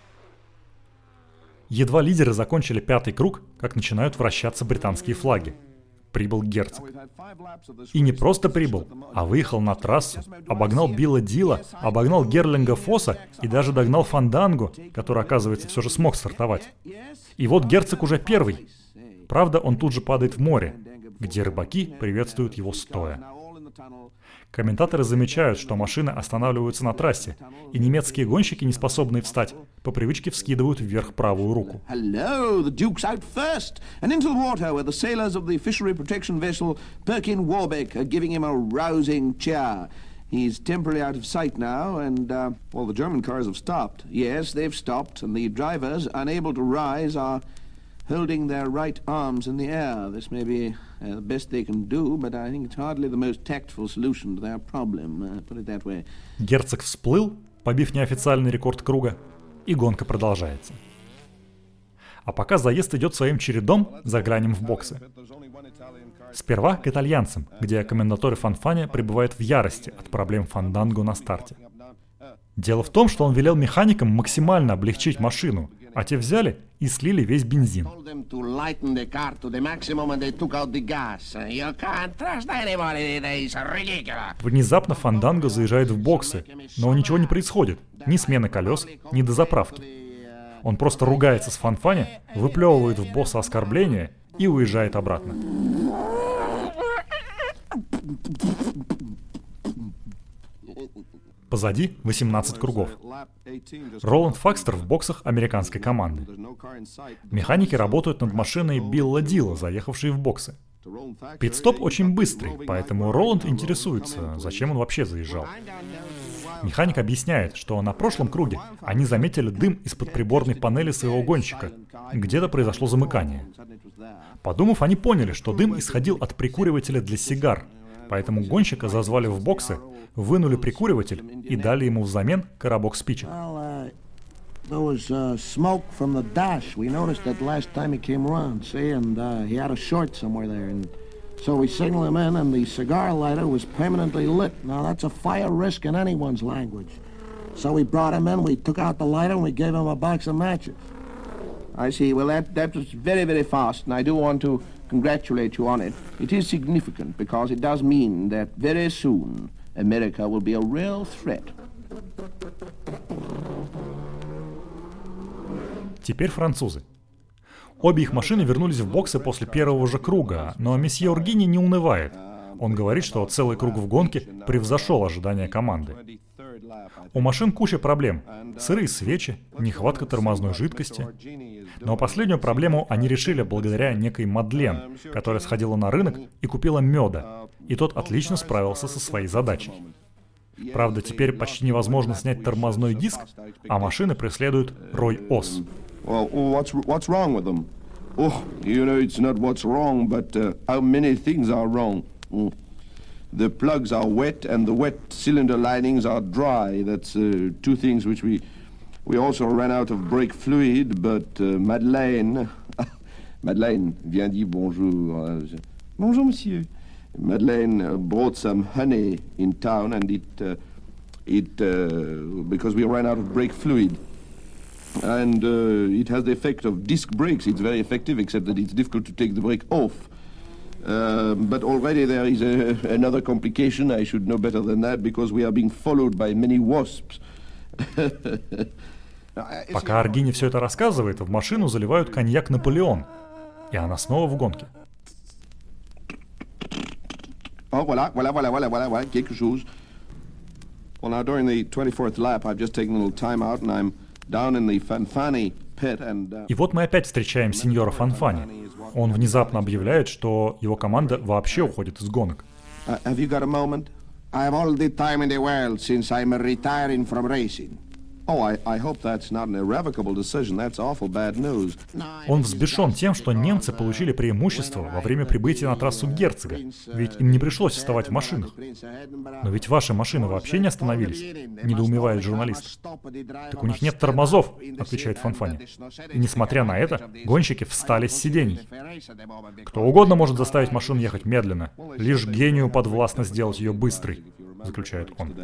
Едва лидеры закончили пятый круг, как начинают вращаться британские флаги. Прибыл герцог. И не просто прибыл, а выехал на трассу, обогнал Билла Дила, обогнал Герлинга Фосса и даже догнал Фанданго, который, оказывается, все же смог стартовать. И вот герцог уже первый. Правда, он тут же падает в море, где рыбаки приветствуют его стоя. Комментаторы замечают, что машины останавливаются на трассе, и немецкие гонщики, не способные встать, по привычке вскидывают вверх правую руку. Hello, the Duke's out first, and into the water where the sailors of the fishery protection vessel Perkin Warbeck are giving him a rousing cheer. He's temporarily out of sight now, and, well, the German cars have stopped. Yes, they've stopped, and the drivers, unable to rise, are holding their right arms in the air. This may be the best they can do, but I think it's hardly the most tactful solution to their problem, put it that way. Герцог всплыл, побив неофициальный рекорд круга, и гонка продолжается. А пока заезд идет своим чередом, заглянем в боксы. Сперва к итальянцам, где комментаторы Фанфаня пребывают в ярости от проблем Фанданго на старте. Дело в том, что он велел механикам максимально облегчить машину, а те взяли и слили весь бензин. Внезапно Фанданго заезжает в боксы, но ничего не происходит, ни смены колес, ни дозаправки. Он просто ругается с Фанфаня, выплевывает в босса оскорбления и уезжает обратно. Позади 18 кругов. Роланд Факстер в боксах американской команды. Механики работают над машиной Билла Дила, заехавшей в боксы. Пит-стоп очень быстрый, поэтому Роланд интересуется, зачем он вообще заезжал. Механик объясняет, что на прошлом круге они заметили дым из-под приборной панели своего гонщика. Где-то произошло замыкание. Подумав, они поняли, что дым исходил от прикуривателя для сигар, поэтому гонщика зазвали в боксы, вынули прикуриватель и дали ему взамен коробок спичек. There was smoke from the dash. We noticed that last time he came around, see, and he had a short somewhere there. And so we signaled him in, and the cigar lighter was permanently lit. Now, that's a fire risk in anyone's language. So we brought him in, we took out the lighter, and we gave him a box of matches. I see. Well, that was very, very fast, and I do want to congratulate you on it. It is significant because it does mean that very soon America will be a real threat. Теперь французы. Обе их машины вернулись в боксы после первого же круга, но месье Ургини не унывает. Он говорит, что целый круг в гонке превзошел ожидания команды. У машин куча проблем. Сырые свечи, нехватка тормозной жидкости. Но последнюю проблему они решили благодаря некой Мадлен, которая сходила на рынок и купила меда. И тот отлично справился со своей задачей. Правда, теперь почти невозможно снять тормозной диск, а машины преследует рой ос. Well, what's wrong with them? Oh, you know, it's not what's wrong, but how many things are wrong. The plugs are wet and the wet cylinder linings are dry. That's two things which we also ran out of brake fluid, but Madeleine vient dire bonjour. Bonjour, monsieur. Madeleine brought some honey in town and because we ran out of brake fluid. And it has the effect of disc brakes. It's very effective, except that it's difficult to take the brake off. But already there is another complication. I should know better than that, because we are being followed by many wasps. Пока Ургини все это рассказывает, в машину заливают коньяк «Наполеон», и она снова в гонке. Oh, voilà, quelque chose. Well, now during the 24th lap, I've just taken a little time out, and I'm down in the Fanfani pit and... И вот мы опять встречаем сеньора Фанфани. Он внезапно объявляет, что его команда вообще уходит из гонок. Have you got a moment? I have all the time in the world since I'm retiring from racing. Oh, I hope that's not an irrevocable decision. That's awful bad news. Он взбешен тем, что немцы получили преимущество во время прибытия на трассу Герцога, ведь им не пришлось вставать в машинах. Но ведь ваши машины вообще не остановились, недоумевает журналист. Так у них нет тормозов, отвечает Фанфани. И несмотря на это, гонщики встали с сидений. Кто угодно может заставить машину ехать медленно, лишь гению подвластно сделать ее быстрой, заключает он.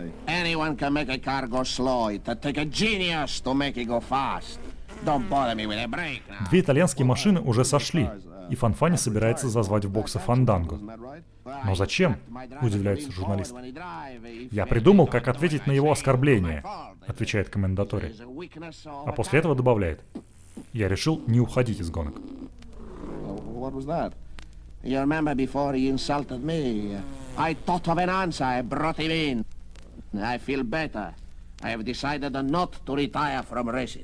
Две итальянские машины уже сошли, и Фанфани собирается зазвать в боксы Фанданго. Но зачем? Удивляется журналист. Я придумал, как ответить на его оскорбление, отвечает комментатор. А после этого добавляет: я решил не уходить из гонок. I thought of an answer, I brought him in. I feel better. I have decided not to retire from racing.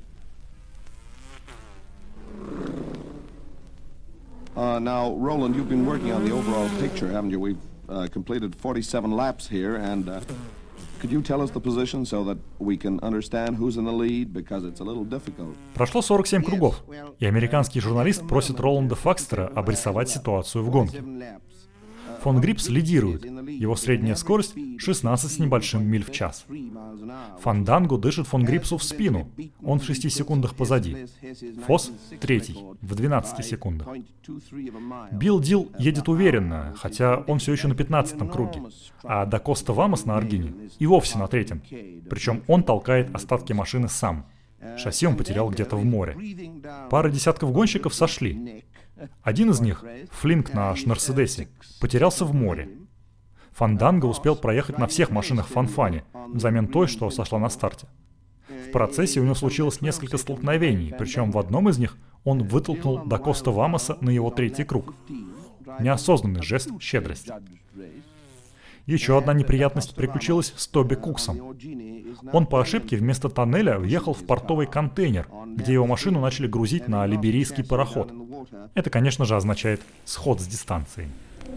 Now, Roland, you've been working on the overall picture, haven't you? We've completed 47 laps here, and could you tell us the position so that we can understand who's in the lead, because it's a little difficult. Прошло 47 кругов, и американский журналист просит Роланда Факстера обрисовать ситуацию в гонке. Фон Грипс лидирует. Его средняя скорость 16 с небольшим миль в час. Фанданго дышит фон Грипсу в спину. Он в 6 секундах позади. Фос третий, в 12 секундах. Билл Дил едет уверенно, хотя он все еще на 15-м круге. А Да Коста Вамос на Ургини и вовсе на 3-м. Причем он толкает остатки машины сам. Шасси он потерял где-то в море. Пара десятков гонщиков сошли. Один из них, Флинк на Мерседесе, потерялся в море. Фанданго успел проехать на всех машинах Фанфани, взамен той, что сошла на старте. В процессе у него случилось несколько столкновений, причем в одном из них он вытолкнул Да Коста Вамоса на его 3-й круг. Неосознанный жест щедрости. Еще одна неприятность приключилась с Тоби Куксом. Он по ошибке вместо тоннеля въехал в портовый контейнер, где его машину начали грузить на либерийский пароход. Это, конечно же, означает сход с дистанции.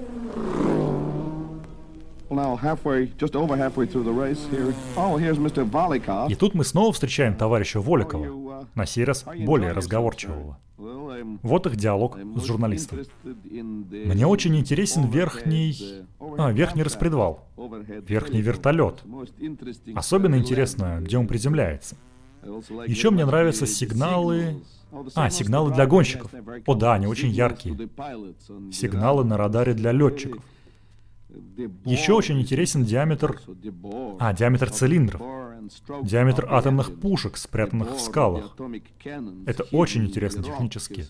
И тут мы снова встречаем товарища Воликова, на сей раз более разговорчивого. Вот их диалог с журналистом. Мне очень интересен верхний распредвал, верхний вертолет. Особенно интересно, где он приземляется. Еще мне нравятся сигналы для гонщиков. О да, они очень яркие. Сигналы на радаре для летчиков. Еще очень интересен диаметр цилиндров. Диаметр атомных пушек, спрятанных в скалах. Это очень интересно технически.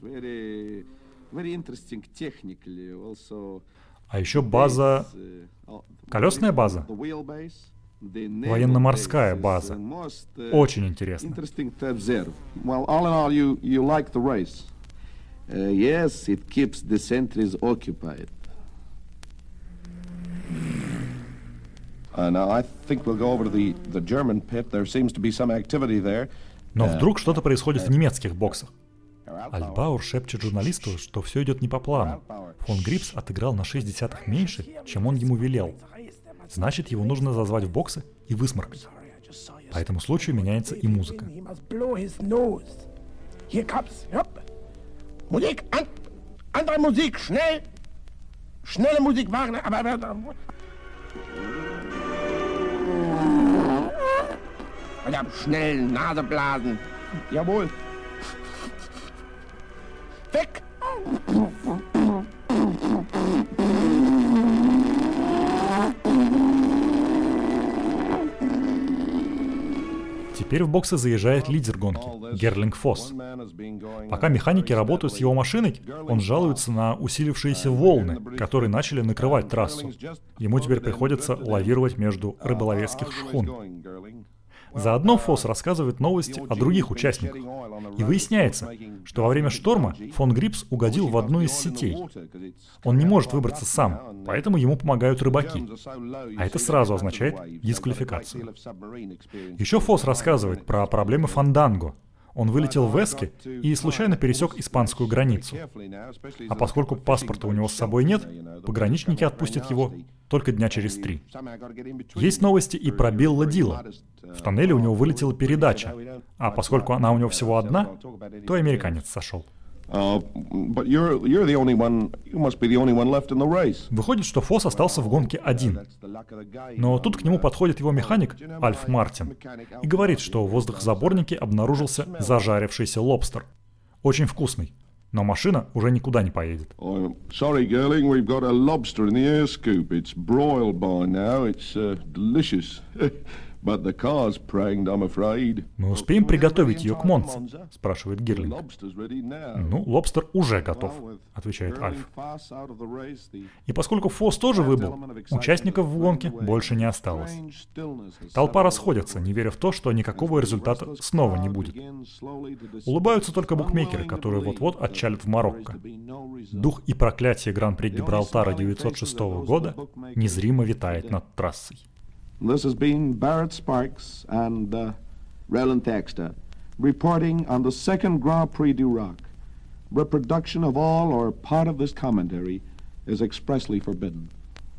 А еще база... Колесная база. Военно-морская база. Очень интересно. Yes, it keeps the sentries occupied. Now I think we'll go over to the German pit. There seems to be some activity there. Но вдруг что-то происходит в немецких боксах. Альтбауэр шепчет журналисту, что все идет не по плану. Фон Грипс отыграл на 0,6 меньше, чем он ему велел. Значит, его нужно зазвать в боксы и высморкать. По этому случаю меняется и музыка. Musik, andere Musik, schnell! Schnelle Musik, Wagner, aber... Schnell, Naseblasen. Jawohl. Weg! Теперь в боксы заезжает лидер гонки, Герлинг Фосс. Пока механики работают с его машиной, он жалуется на усилившиеся волны, которые начали накрывать трассу. Ему теперь приходится лавировать между рыболовецких шхун. Заодно Фосс рассказывает новости о других участниках. И выясняется, что во время шторма фон Грипс угодил в одну из сетей. Он не может выбраться сам, поэтому ему помогают рыбаки. А это сразу означает дисквалификацию. Еще Фосс рассказывает про проблемы фанданго. Он вылетел в Эске и случайно пересек испанскую границу. А поскольку паспорта у него с собой нет, пограничники отпустят его только дня через 3. Есть новости и про Билла Дила. В тоннеле у него вылетела передача, а поскольку она у него всего одна, то американец сошел. Выходит, что Фосс остался в гонке один. Но тут к нему подходит его механик Альф Мартин и говорит, что в воздухозаборнике обнаружился зажарившийся лобстер. Очень вкусный, но машина уже никуда не поедет. Sorry, Gerling, we've got a lobster in the air scoop. It's broiled by now. It's delicious. But the car's pranked, I'm afraid. Мы успеем приготовить ее к Монце? Спрашивает Гирлинг. Ну, лобстер уже готов, отвечает Альф. И поскольку Фосс тоже выбыл, участников в гонке больше не осталось. Толпа расходится, не веря в то, что никакого результата снова не будет. Улыбаются только букмекеры, которые вот-вот отчалят в Марокко. Дух и проклятие Гран-при Гибралтара 1906 года незримо витает над трассой. This has been Barrett Sparks and Roland Thaxter reporting on the second Grand Prix du Rock. Reproduction of all or part of this commentary is expressly forbidden.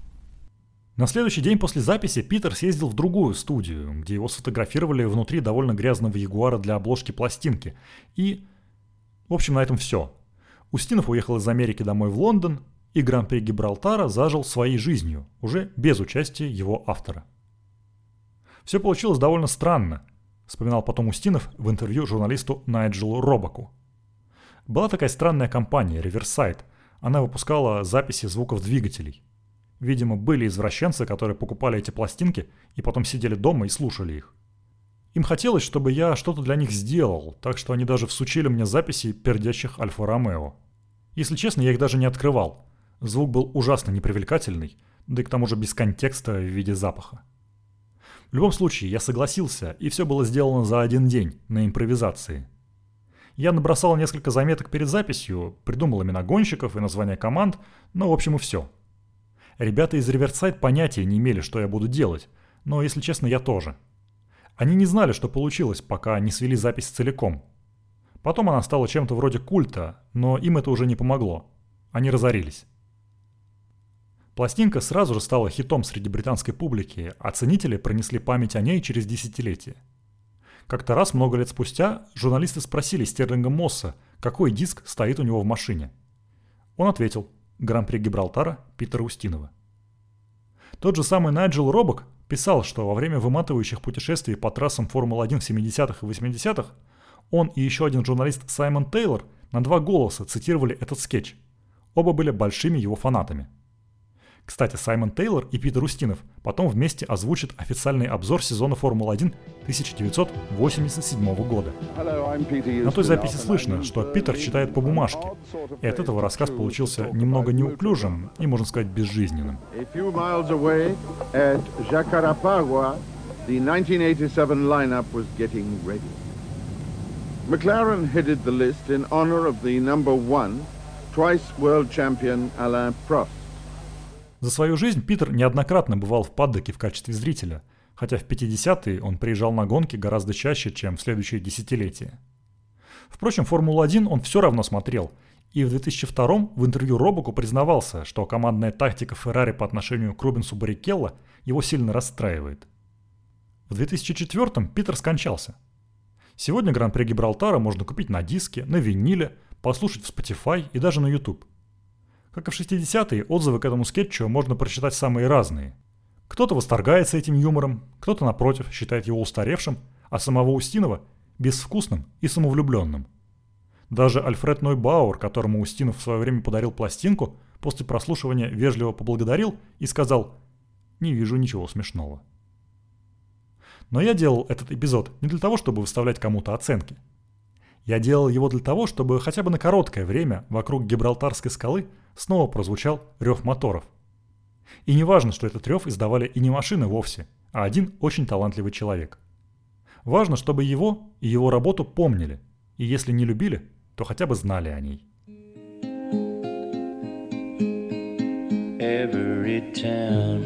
На следующий день после записи Питер съездил в другую студию, где его сфотографировали внутри довольно грязного Ягуара для обложки пластинки. И, в общем, на этом все. Устинов уехал из Америки домой в Лондон, и Гран-при Гибралтара зажил своей жизнью, уже без участия его автора. Все получилось довольно странно, вспоминал потом Устинов в интервью журналисту Найджелу Робаку. Была такая странная компания Riverside. Она выпускала записи звуков двигателей. Видимо, были извращенцы, которые покупали эти пластинки и потом сидели дома и слушали их. Им хотелось, чтобы я что-то для них сделал, так что они даже всучили мне записи пердящих Альфа-Ромео. Если честно, я их даже не открывал. Звук был ужасно непривлекательный, да и к тому же без контекста в виде запаха. В любом случае, я согласился, и все было сделано за один день, на импровизации. Я набросал несколько заметок перед записью, придумал имена гонщиков и названия команд, но в общем и все. Ребята из Riverside понятия не имели, что я буду делать, но, если честно, я тоже. Они не знали, что получилось, пока не свели запись целиком. Потом она стала чем-то вроде культа, но им это уже не помогло. Они разорились. Пластинка сразу же стала хитом среди британской публики, а ценители пронесли память о ней через десятилетия. Как-то раз, много лет спустя, журналисты спросили Стерлинга Мосса, какой диск стоит у него в машине. Он ответил: «Гран-при Гибралтара Питера Устинова». Тот же самый Найджел Робак писал, что во время выматывающих путешествий по трассам Формулы-1 в 70-х и 80-х он и еще один журналист Саймон Тейлор на 2 голоса цитировали этот скетч. Оба были большими его фанатами. Кстати, Саймон Тейлор и Питер Устинов потом вместе озвучат официальный обзор сезона Формулы-1 1987 года. На той записи слышно, что Питер читает по бумажке, и от этого рассказ получился немного неуклюжим и, можно сказать, безжизненным. McLaren headed the list in honor of the number one, twice world champion Alain Prost. За свою жизнь Питер неоднократно бывал в паддоке в качестве зрителя, хотя в 50-е он приезжал на гонки гораздо чаще, чем в следующие десятилетия. Впрочем, Формулу-1 он все равно смотрел, и в 2002-м в интервью Робоку признавался, что командная тактика Феррари по отношению к Рубенсу Баррикелло его сильно расстраивает. В 2004-м Питер скончался. Сегодня Гран-при Гибралтара можно купить на диске, на виниле, послушать в Spotify и даже на YouTube. Как и в 60-е, отзывы к этому скетчу можно прочитать самые разные. Кто-то восторгается этим юмором, кто-то, напротив, считает его устаревшим, а самого Устинова – безвкусным и самовлюбленным. Даже Альфред Нойбауэр, которому Устинов в свое время подарил пластинку, после прослушивания вежливо поблагодарил и сказал: «Не вижу ничего смешного». Но я делал этот эпизод не для того, чтобы выставлять кому-то оценки. Я делал его для того, чтобы хотя бы на короткое время вокруг Гибралтарской скалы снова прозвучал рев моторов. И не важно, что этот рев издавали и не машины вовсе, а один очень талантливый человек. Важно, чтобы его и его работу помнили, и если не любили, то хотя бы знали о ней. Every town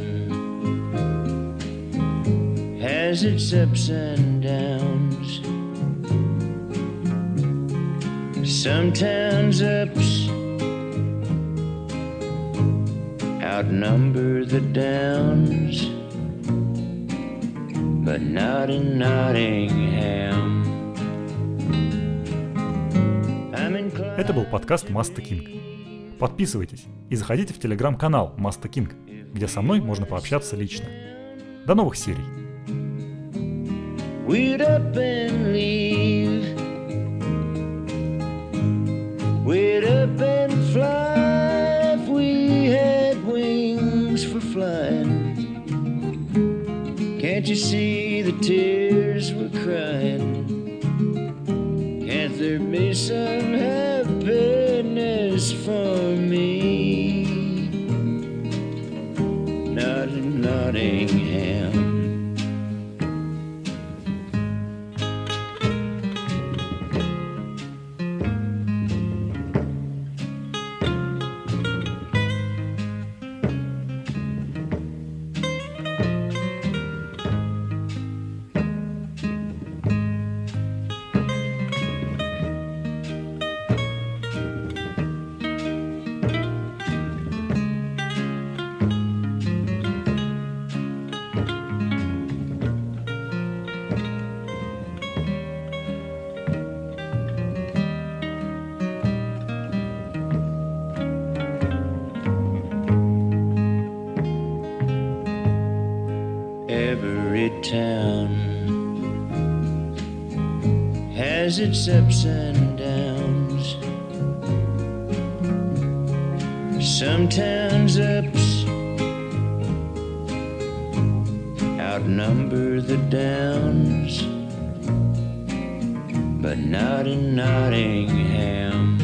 has its ups and downs. Sometimes ups outnumber the downs, but not in Nottingham. Это был подкаст Маста Кинг. Подписывайтесь и заходите в телеграм-канал Маста Кинг, где со мной можно пообщаться лично. До новых серий. We'd up and leave. We'd up and fly if we had wings for flying. Can't you see the tears we're crying? Can't there be some happiness for me? Not in Nottingham. Every town has its ups and downs. Sometimes ups outnumber the downs, but not in Nottingham.